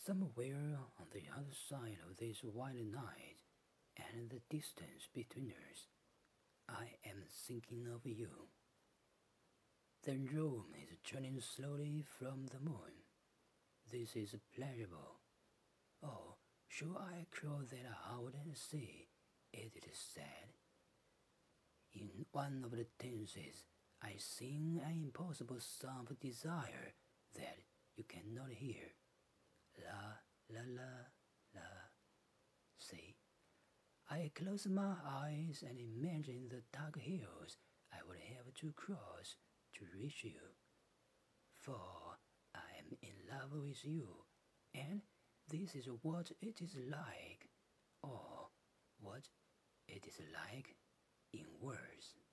Somewhere on the other side of this wild night and the distance between us, I am thinking of you. The room is turning slowly from the moon. This is pleasurable. Oh, should I cross that out and see? It is sad. In one of the dances, I sing an impossible song of desire that you cannot hear. La la la la. See, I close my eyes and imagine the dark hills I would have to cross to reach you. For I am in love with you, and this is what it is like, or what it is like in words.